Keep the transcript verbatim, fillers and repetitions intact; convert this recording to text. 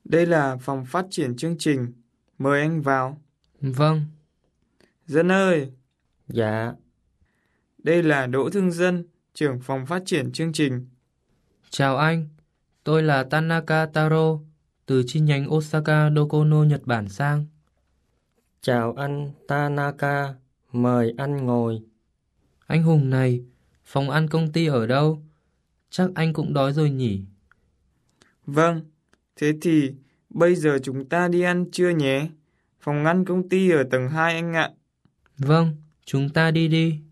Đây là phòng phát triển chương trình. Mời anh vào. Vâng. Dân ơi, Dạ, đây là Đỗ Thương Dân, trưởng phòng phát triển chương trình. Chào anh, tôi là Tanaka Taro, từ chi nhánh Osaka Docono, Nhật Bản sang. chào anh Tanaka, mời anh ngồi. Anh Hùng này, phòng ăn công ty ở đâu? Chắc anh cũng đói rồi nhỉ? Vâng, thế thì bây giờ chúng ta đi ăn trưa nhé. Phòng ăn công ty ở tầng hai anh ạ. Vâng, chúng ta đi đi.